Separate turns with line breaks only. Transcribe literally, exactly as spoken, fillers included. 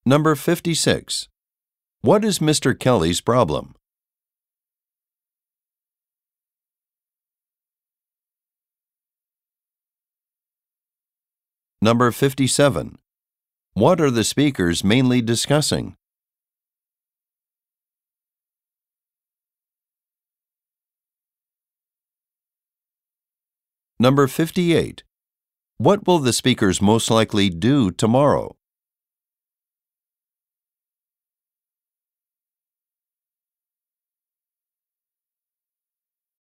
Number fifty-six. What is Mister Kelly's problem? Number fifty-seven. What are the speakers mainly discussing? Number fifty-eight. What will the speakers most likely do tomorrow?